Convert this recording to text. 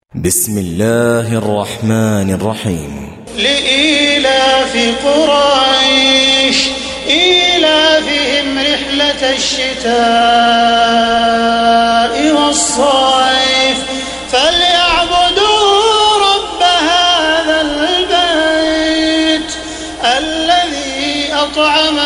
بسم الله الرحمن الرحيم. لإيلاف قريش إيلافهم رحلة الشتاء والصيف فليعبدوا رب هذا البيت الذي أطعمهم